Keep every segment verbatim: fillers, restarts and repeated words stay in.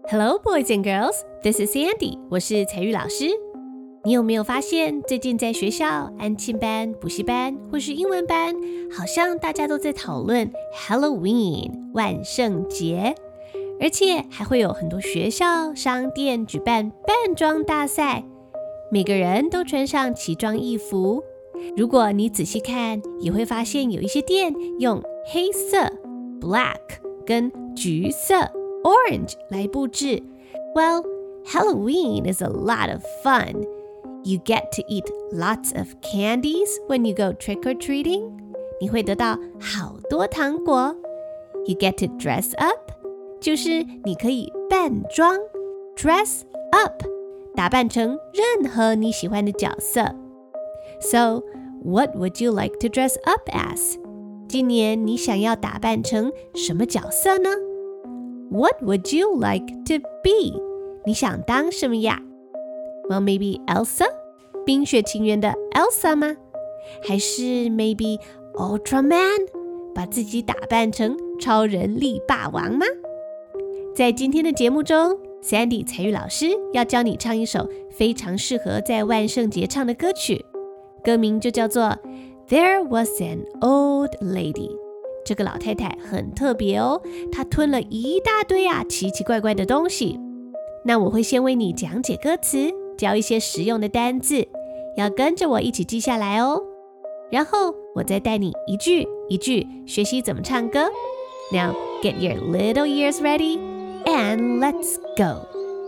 Hello, boys and girls. This is Sandy. 我是采玉老師。你有沒有發現，最近在學校、安親班、補習班或是英文班，好像大家都在討論 Halloween 萬聖節，而且還會有很多學校、商店舉辦扮裝大賽，每個人都穿上奇裝異服。如果你仔細看，也會發現有一些店用黑色 black 跟橘色 orange 來佈置。Well, Halloween is a lot of fun. You get to eat lots of candies when you go trick-or-treating. 你會得到好多糖果。You get to dress up. 就是你可以扮裝 dress up 打扮成任何你喜歡的角色。So, what would you like to dress up as? 今年你想要打扮成什麼角色呢？ What would you like to be? 你想當什麼呀？ Well, maybe Elsa? 冰雪奇緣的 Elsa 嗎？還是 maybe Ultraman? 把自己打扮成超人力霸王嗎？在今天的節目中， Sandy 采玉老師要教你唱一首非常適合在萬聖節唱的歌曲，歌名就叫做 There was an old lady。 這個老太太很特別哦，她吞了一大堆啊奇奇怪怪的東西。那我會先為你講解歌詞，教一些實用的單字，要跟着我一起記下來哦。然後我再帶你一句一句學習怎麼唱歌。Now get your little ears ready and let's go.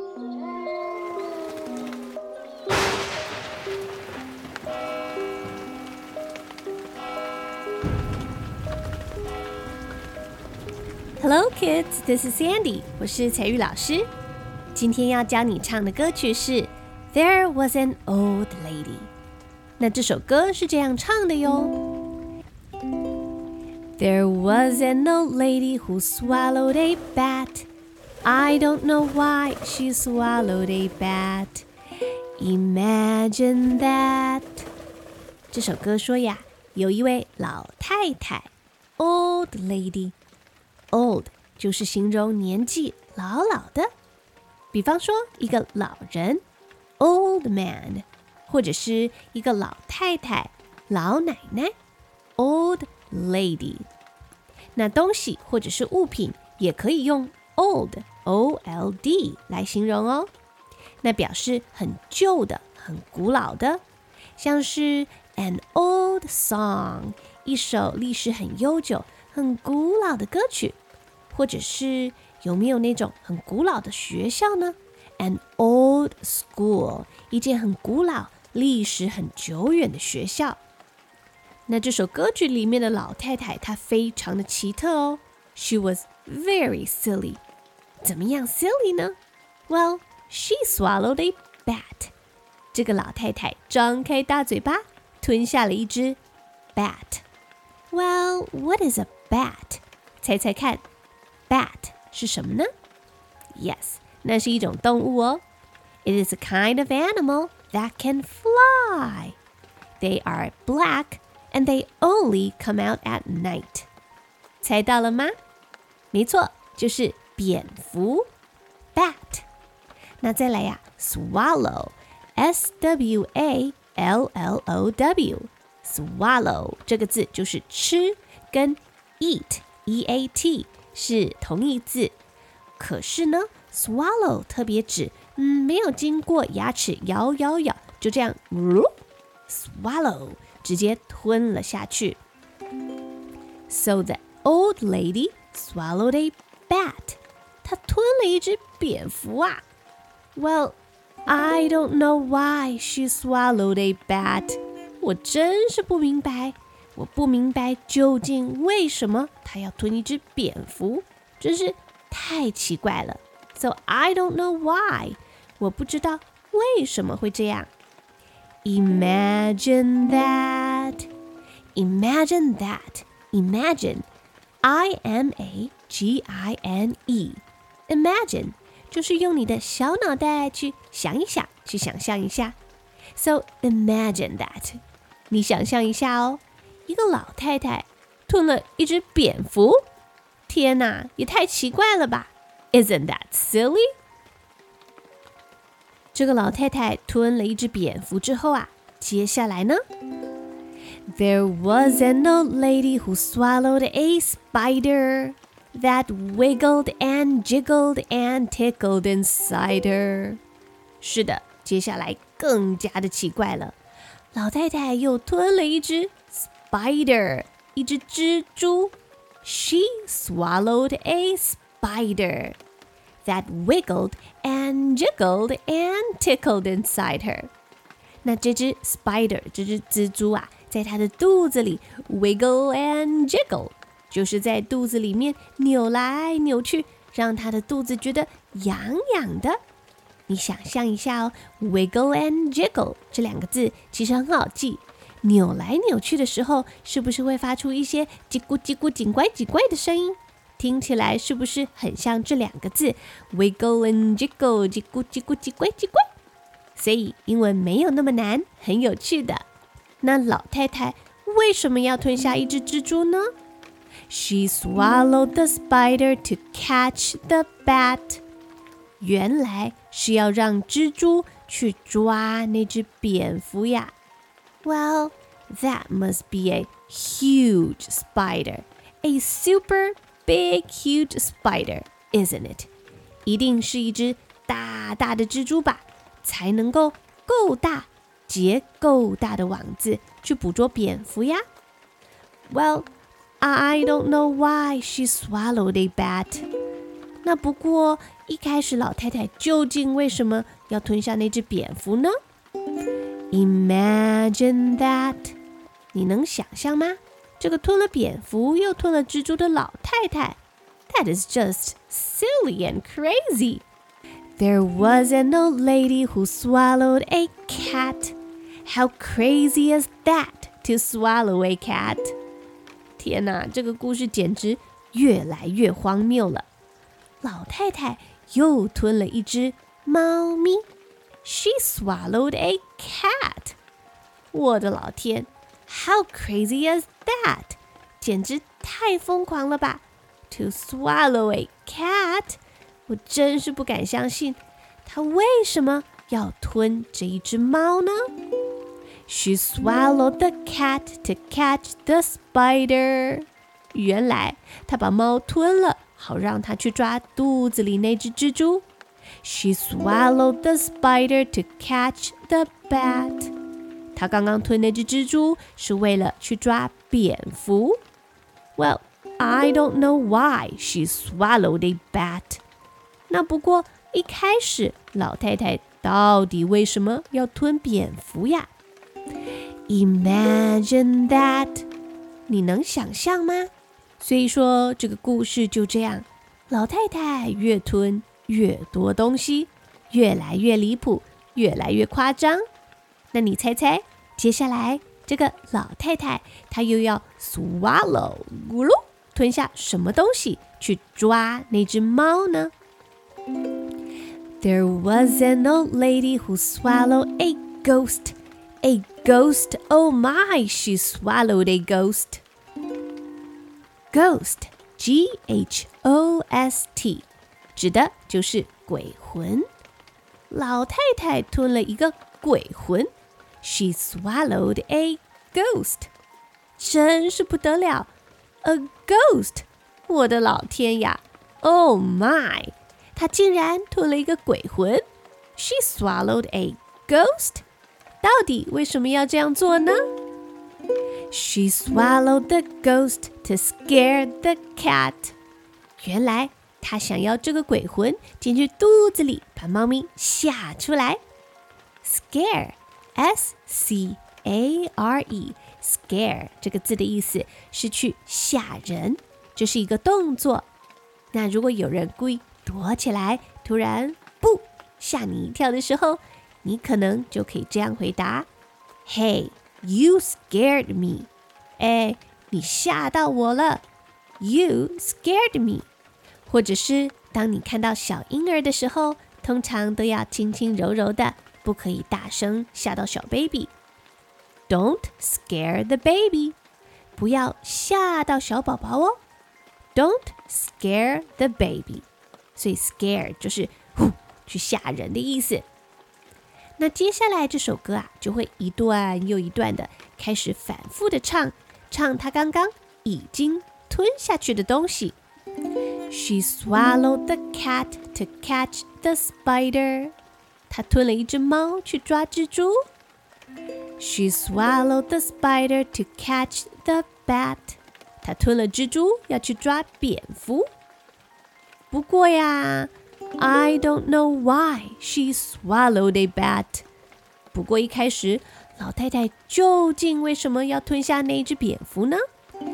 Hello kids, this is Sandy. 我是采玉老師。今天要教你唱的歌曲是 There was an old lady。 那這首歌是這樣唱的喲。There was an old lady who swallowed a bat. I don't know why she swallowed a bat. Imagine that. 這首歌說呀，有一位老太太 Old lady。Old 就是形容年紀老老的，比方說一個老人 Old man， 或者是一個老太太老奶奶 Old lady。 那東西或者是物品也可以用 old O L D 來形容哦，那表示很舊的很古老的，像是 an old song 一首歷史很悠久很古老的歌曲，或者是有沒有那種很古老的學校呢？ An old school 一間很古老歷史很久遠的學校。那這首歌曲裡面的老太太她非常的奇特哦。 She was very silly。 怎麼樣 silly 呢？ Well, she swallowed a bat。 這個老太太張開大嘴巴吞下了一隻 bat。Well, what is a bat? 猜猜看 Bat 是什麼呢？ Yes, 那是一種動物哦。 It is a kind of animal that can fly. They are black and they only come out at night. 猜到了嗎？沒錯，就是蝙蝠 Bat。 那再來呀 Swallow S W A L L O W Swallow 這個字就是吃，跟 Eat E A T 是同義字，可是呢 swallow 特別指嗯沒有經過牙齒咬咬咬就這樣、呃、swallow 直接吞了下去。 So the old lady swallowed a bat. 她吞了一隻蝙蝠啊。 Well, I don't know why she swallowed a bat. 我真是不明白我不明白究竟為什麼他要吞一隻蝙蝠，真是太奇怪了。 So I don't know why， 我不知道為什麼會這樣。 Imagine that. Imagine that. Imagine. I M A G I N E. Imagine 就是用你的小腦袋去想一想，去想象一下。 So imagine that. 你想象一下哦，一個老太太吞了一隻蝙蝠，天哪，也太奇怪了吧？ Isn't that silly? 這個老太太吞了一隻蝙蝠之後啊，接下來呢？ There was an old lady who swallowed a spider that wiggled and jiggled and tickled inside her. 是的，接下來更加的奇怪了。老太太又吞了一隻 spider， 一隻蜘蛛。She swallowed a spider that wiggled and jiggled and tickled inside her. 那這隻 spider， 這隻蜘蛛啊，在她的肚子裡 wiggle and jiggle， 就是在肚子裡面扭來扭去，讓她的肚子覺得癢癢的。你想象一下哦 ，wiggle and jiggle 這兩個字其實很好記。扭來扭去的時候，是不是會發出一些嘰咕嘰咕、緊怪緊怪的聲音？聽起來是不是很像這兩個字 wiggle and jiggle， 嘰咕嘰咕、嘰怪嘰怪？所以英文沒有那麼難，很有趣的。那老太太為什麼要吞下一隻蜘蛛呢？ She swallowed the spider to catch the bat. 原來是要讓蜘蛛去抓那隻蝙蝠呀。Well, that must be a huge spider. A super big, huge spider, isn't it? 一定是一隻大大的蜘蛛吧，才能夠夠大，結夠大的網子去捕捉蝙蝠呀。Well, I don't know why she swallowed a bat. 那不過一開始老太太究竟為什麼要吞下那隻蝙蝠呢？ Imagine that. 你能想象嗎？這個吞了蝙蝠又吞了蜘蛛的老太太 That is just silly and crazy. There was an old lady who swallowed a cat. How crazy is that to swallow a cat? 天哪，這個故事簡直越來越荒謬了。老太太又吞了一隻貓咪。She swallowed a cat. 我的老天 How crazy is that? 簡直太瘋狂了吧 To swallow a cat? 我真是不敢相信她為什麼要吞這一隻貓呢？ She swallowed the cat to catch the spider. 原來她把貓吞了，好讓她去抓肚子裡那隻蜘蛛。She swallowed the spider to catch the bat. 她剛剛吞那隻蜘蛛是為了去抓蝙蝠。Well, I don't know why she swallowed a bat. 那不過一開始老太太到底為什麼要吞蝙蝠呀？ Imagine that. 你能想象嗎？所以說這個故事就這樣，老太太越吞越多東西，越來越離譜，越來越誇張。那你猜猜，接下來這個老太太她又要 swallow 咕嚕吞下什麼東西去抓那隻貓呢？ There was an old lady who swallowed a ghost. A ghost, oh my, she swallowed a ghost. Ghost, G H O S T指的就是鬼魂。老太太吞了一個鬼魂 She swallowed a ghost. 真是不得了 A ghost 我的老天呀 Oh my 她竟然吞了一個鬼魂 She swallowed a ghost. 到底為什麼要這樣做呢？ She swallowed the ghost to scare the cat. 原來她想要這個鬼魂進去肚子裡，把貓咪嚇出來。Scare, S C A R E, scare 這個字的意思是去嚇人，這是一個動作。那如果有人故意躲起來，突然不嚇你一跳的時候，你可能就可以這樣回答 Hey, you scared me. 哎，你嚇到我了 You scared me. 或者是當你看到小嬰兒的時候，通常都要輕輕柔柔的，不可以大聲嚇到小 baby. Don't scare the baby. 不要嚇到小寶寶哦。Don't scare the baby. 所以 scare 就是呼去嚇人的意思。 那接下來這首歌啊，就會一段又一段的開始反覆的唱，唱他剛剛已經吞下去的東西。She swallowed the cat to catch the spider. 她吞了一隻貓去抓蜘蛛。She swallowed the spider to catch the bat. 她吞了蜘蛛要去抓蝙蝠。不過呀 I don't know why she swallowed a bat. 不過一開始，老太太究竟為什麼要吞下那隻蝙蝠呢？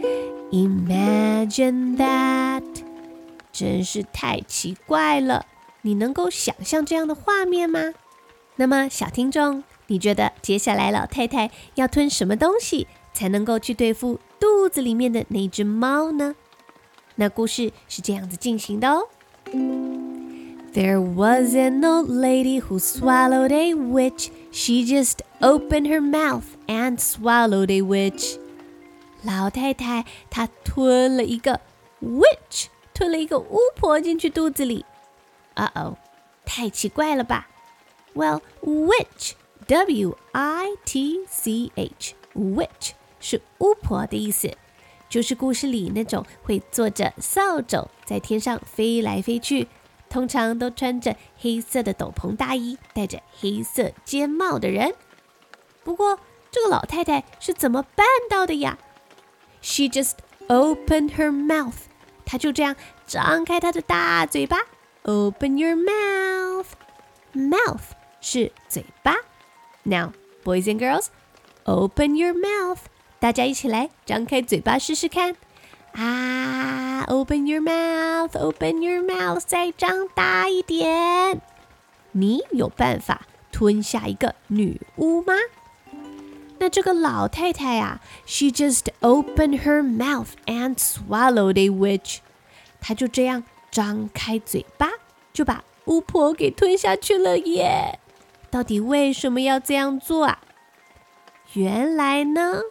Imagine that. 真是太奇怪了，你能夠想象這樣的畫面嗎？那麼小聽眾，你覺得接下來老太太要吞什麼東西才能夠去對付肚子裡面的那隻貓呢？那故事是這樣子進行的哦。There was an old lady who swallowed a witch. She just opened her mouth and swallowed a witch. 老太太她吞了一個 witch， 吞了一個巫婆進去肚子裡。Uh-oh， 太奇怪了吧？ Well, witch, W I T C H, witch 是巫婆的意思，就是故事裡那種會坐着掃帚在天上飛來飛去，通常都穿着黑色的斗篷大衣，戴着黑色尖帽的人。不過這個老太太是怎麼辦到的呀？ She just opened her mouth. 她就這樣張開她的大嘴巴。Open your mouth. Mouth 是嘴巴。Now, boys and girls, open your mouth. 大家一起來張開嘴巴試試看。啊 Open your mouth, open your mouth, 再張大一點。你有辦法吞下一個女巫嗎？那這個老太太啊 She just opened her mouth and swallowed a witch. 她就這樣張開嘴巴，就把巫婆給吞下去了耶。到底為什麼要這樣做啊？原來呢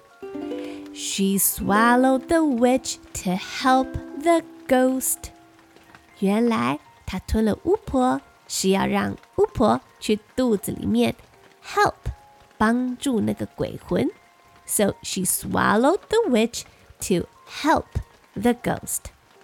She swallowed the witch to help the ghost. 原來她吞了巫婆，是要讓巫婆去肚子裡面 help 幫助那個鬼魂。So she swallowed the witch to help the ghost.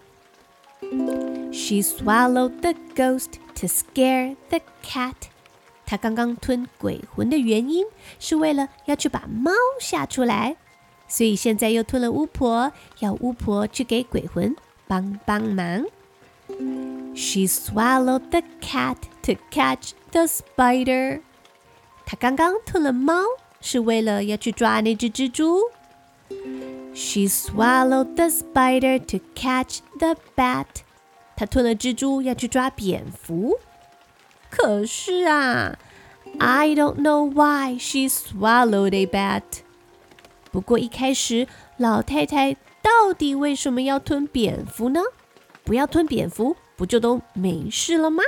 She swallowed the ghost to scare the cat. 她剛剛吞鬼魂的原因是為了要去把貓嚇出來。所以現在又吞了巫婆，要巫婆去給鬼魂幫幫忙。She swallowed the cat to catch the spider. 她剛剛吞了貓，是為了要去抓那隻蜘蛛。She swallowed the spider to catch the bat. 她吞了蜘蛛，要去抓蝙蝠。可是啊 I don't know why she swallowed a bat.不過一開始，老太太到底為什麼要吞蝙蝠呢？不要吞蝙蝠，不就都沒事了嗎？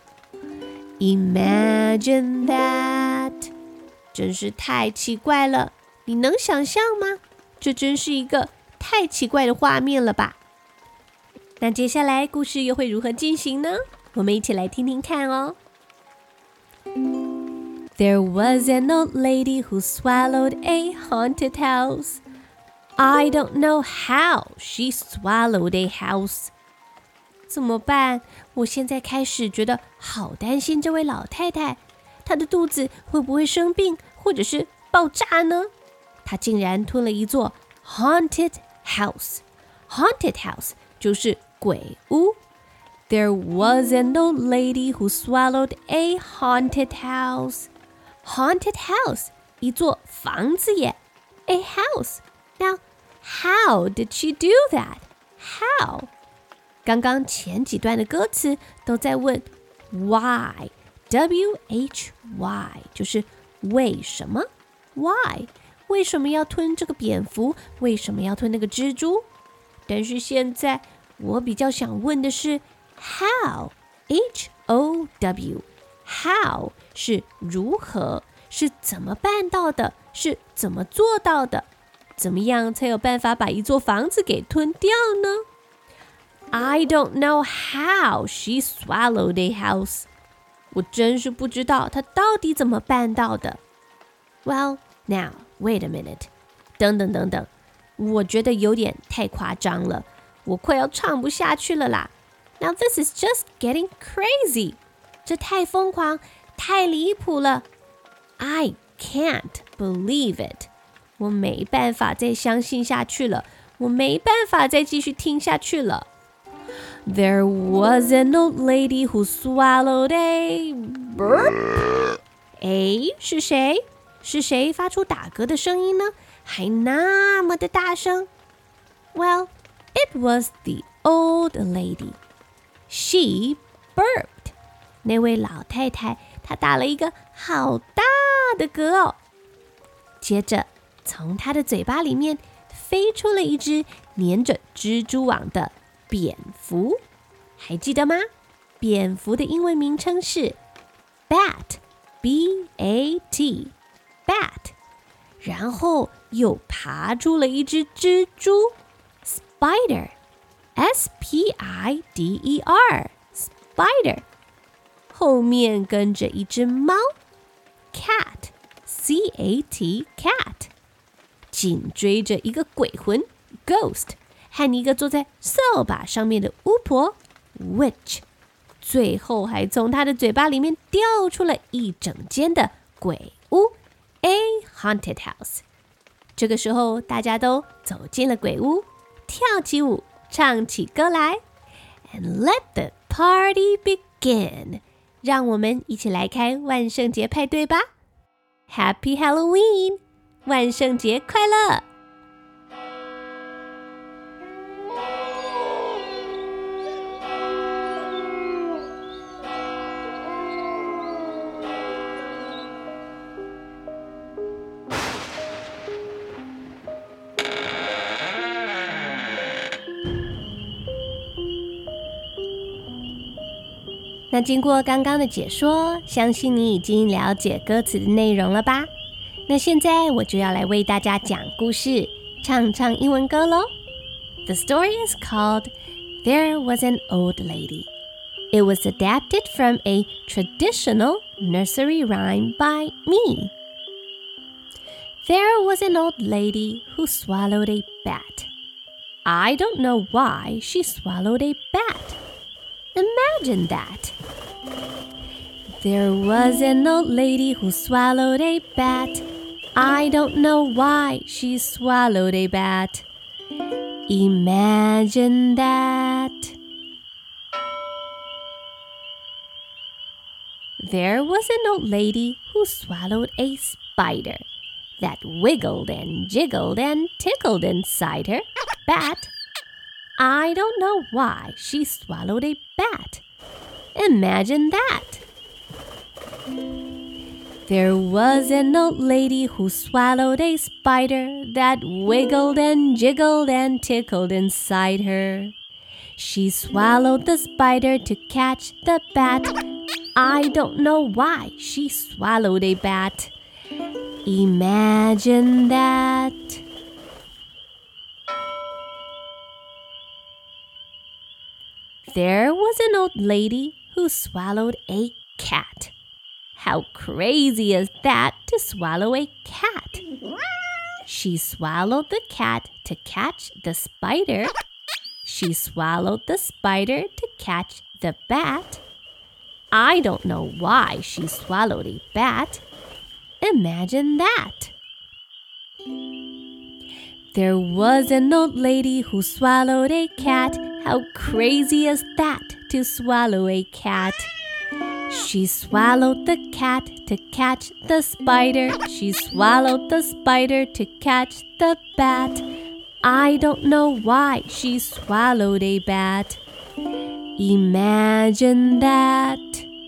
Imagine that. 真是太奇怪了，你能想象嗎？這真是一個太奇怪的畫面了吧？那接下來故事又會如何進行呢？我們一起來聽聽看哦。There was an old lady who swallowed a haunted house. I don't know how she swallowed a house. 怎麼辦？我現在開始覺得好擔心這位老太太，她的肚子會不會生病，或者是爆炸呢？她竟然吞了一座 haunted house. Haunted house 就是鬼屋。There was an old lady who swallowed a haunted house.Haunted house, 一座房子耶 A house. Now, how did she do that? How? 剛剛前幾段的歌詞都在問 why, W H Y 就是為什麼 Why? 為什麼要吞這個蝙蝠？為什麼要吞那個蜘蛛？但是現在我比較想問的是 how, H O W How 是如何，是怎麼辦到的，是怎麼做到的，怎麼樣才有辦法把一座房子給吞掉呢？ I don't know how she swallowed a house. 我真是不知道他到底怎麼辦到的。Well, now, wait a minute. 等等等等，我覺得有點太誇張了，我快要唱不下去了啦。Now this is just getting crazy. 這太瘋狂，太離譜了。I can't believe it. 我沒辦法再相信下去了，我沒辦法再繼續聽下去了。There was an old lady who swallowed a burp. 誒，是誰？是誰發出打嗝的聲音呢？還那麼的大聲。Well, it was the old lady. She burped. 那位老太太，她打了一個好大的嗝哦。接着，從她的嘴巴裡面飛出了一隻粘着蜘蛛網的蝙蝠。還記得嗎？蝙蝠的英文名稱是 bat, B A T, bat。然後又爬出了一隻蜘蛛 spider, S P I D E R, spider。後面跟着一隻貓 cat, C A T, cat。緊追着一個鬼魂 ghost， 和一個坐在掃把上面的巫婆 witch。最後還從他的嘴巴裡面掉出了一整間的鬼屋 A haunted house。這個時候大家都走進了鬼屋，跳起舞，唱起歌來。And let the party begin。讓我們一起來開萬聖節派對吧。Happy Halloween！ 萬聖節快樂！那經過剛剛的解說，相信你已經了解歌詞的內容了吧？那現在我就要來為大家講故事，唱唱英文歌咯。The story is called There Was an Old Lady. It was adapted from a traditional nursery rhyme by me. There was an old lady who swallowed a bat. I don't know why she swallowed a bat. Imagine that. There was an old lady who swallowed a bat. I don't know why she swallowed a bat. Imagine that. There was an old lady who swallowed a spider that wiggled and jiggled and tickled inside her bat. I don't know why she swallowed a bat. Imagine that. There was an old lady who swallowed a spider that wiggled and jiggled and tickled inside her. She swallowed the spider to catch the bat. I don't know why she swallowed a bat. Imagine that. There was an old lady who swallowed a cat. How crazy is that to swallow a cat? She swallowed the cat to catch the spider. She swallowed the spider to catch the bat. I don't know why she swallowed a bat. Imagine that. There was an old lady who swallowed a cat. How crazy is that to swallow a cat? She swallowed the cat to catch the spider. She swallowed the spider to catch the bat. I don't know why she swallowed a bat. Imagine that.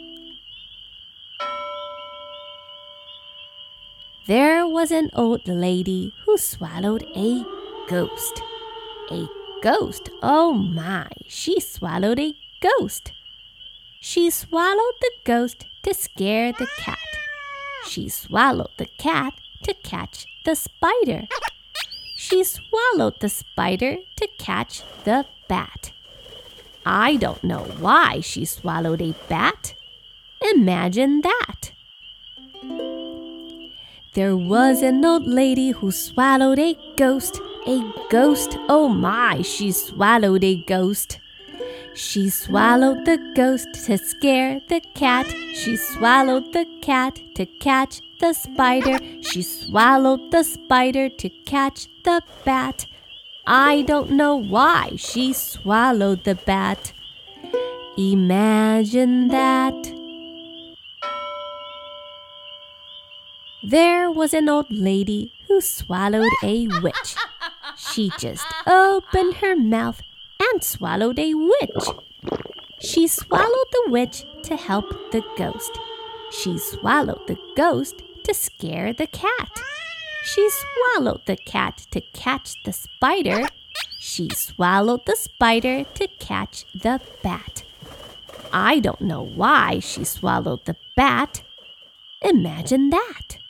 There was an old lady who swallowed a ghost. A ghost, oh my, she swallowed a ghost. She swallowed the ghost to scare the cat. She swallowed the cat to catch the spider. She swallowed the spider to catch the bat. I don't know why she swallowed a bat. Imagine that. There was an old lady who swallowed a ghost. A ghost, oh my, she swallowed a ghost. She swallowed the ghost to scare the cat. She swallowed the cat to catch the spider. She swallowed the spider to catch the bat. I don't know why she swallowed the bat. Imagine that. There was an old lady who swallowed a witch. She just opened her mouth and swallowed a witch. She swallowed the witch to help the ghost. She swallowed the ghost to scare the cat. She swallowed the cat to catch the spider. She swallowed the spider to catch the bat. I don't know why she swallowed the bat. Imagine that.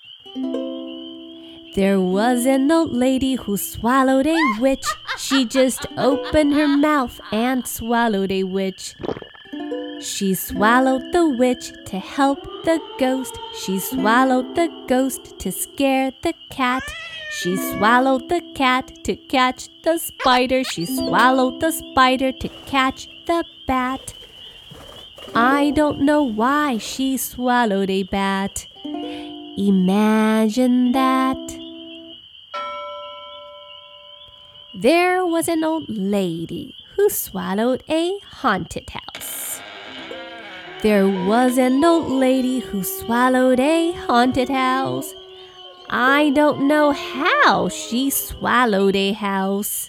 There was an old lady who swallowed a witch. She just opened her mouth and swallowed a witch. She swallowed the witch to help the ghost. She swallowed the ghost to scare the cat. She swallowed the cat to catch the spider. She swallowed the spider to catch the bat. I don't know why she swallowed a bat. Imagine that. There was an old lady who swallowed a haunted house. There was an old lady who swallowed a haunted house. I don't know how she swallowed a house.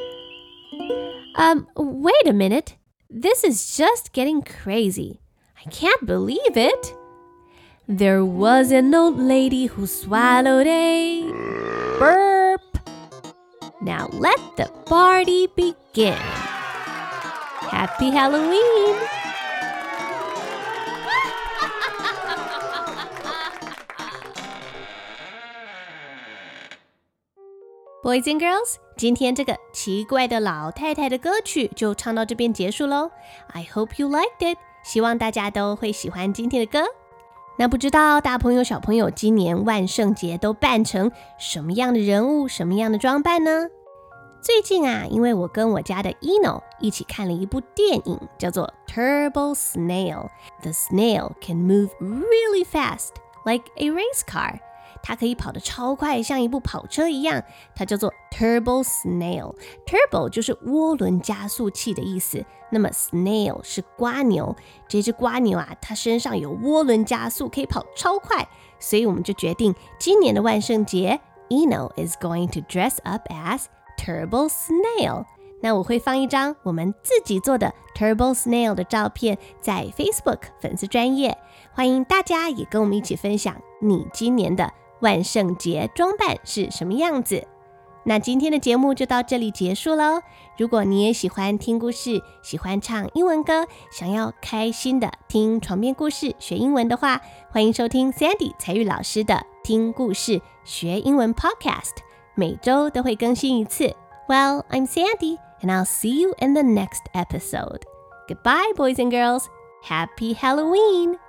Um, wait a minute. This is just getting crazy. I can't believe it. There was an old lady who swallowed a burp. Now let the party begin. Happy Halloween! Boys and girls, 今天这個奇怪的老太太的歌曲就唱到這邊結束咯。I hope you liked it. 希望大家都會喜歡今天的歌。那不知道大朋友小朋友今年萬聖節都扮成什麼樣的人物，什麼樣的裝扮呢？最近啊，因為我跟我家的 Eno 一起看了一部電影，叫做 Turbo Snail. The snail can move really fast, like a race car. 它可以跑得超快，像一部跑車一樣。它叫做 Turbo Snail. Turbo 就是渦輪加速器的意思。那麼 Snail 是蝸牛。這隻蝸牛啊，它身上有渦輪加速，可以跑超快。所以我們就決定，今年的萬聖節 Eno is going to dress up as Turbo Snail. 那我會放一張我們自己做的 Turbo Snail 的照片在 Facebook 粉絲專頁，歡迎大家也跟我們一起分享你今年的萬聖節裝扮是什麼樣子。那今天的節目就到這裡結束咯。如果你也喜歡聽故事，喜歡唱英文歌，想要開心的聽床邊故事學英文的話，歡迎收聽 Sandy 彩玉老師的聽故事學英文 Podcast， 每週都會更新一次。Well, I'm Sandy, and I'll see you in the next episode. Goodbye, boys and girls. Happy Halloween!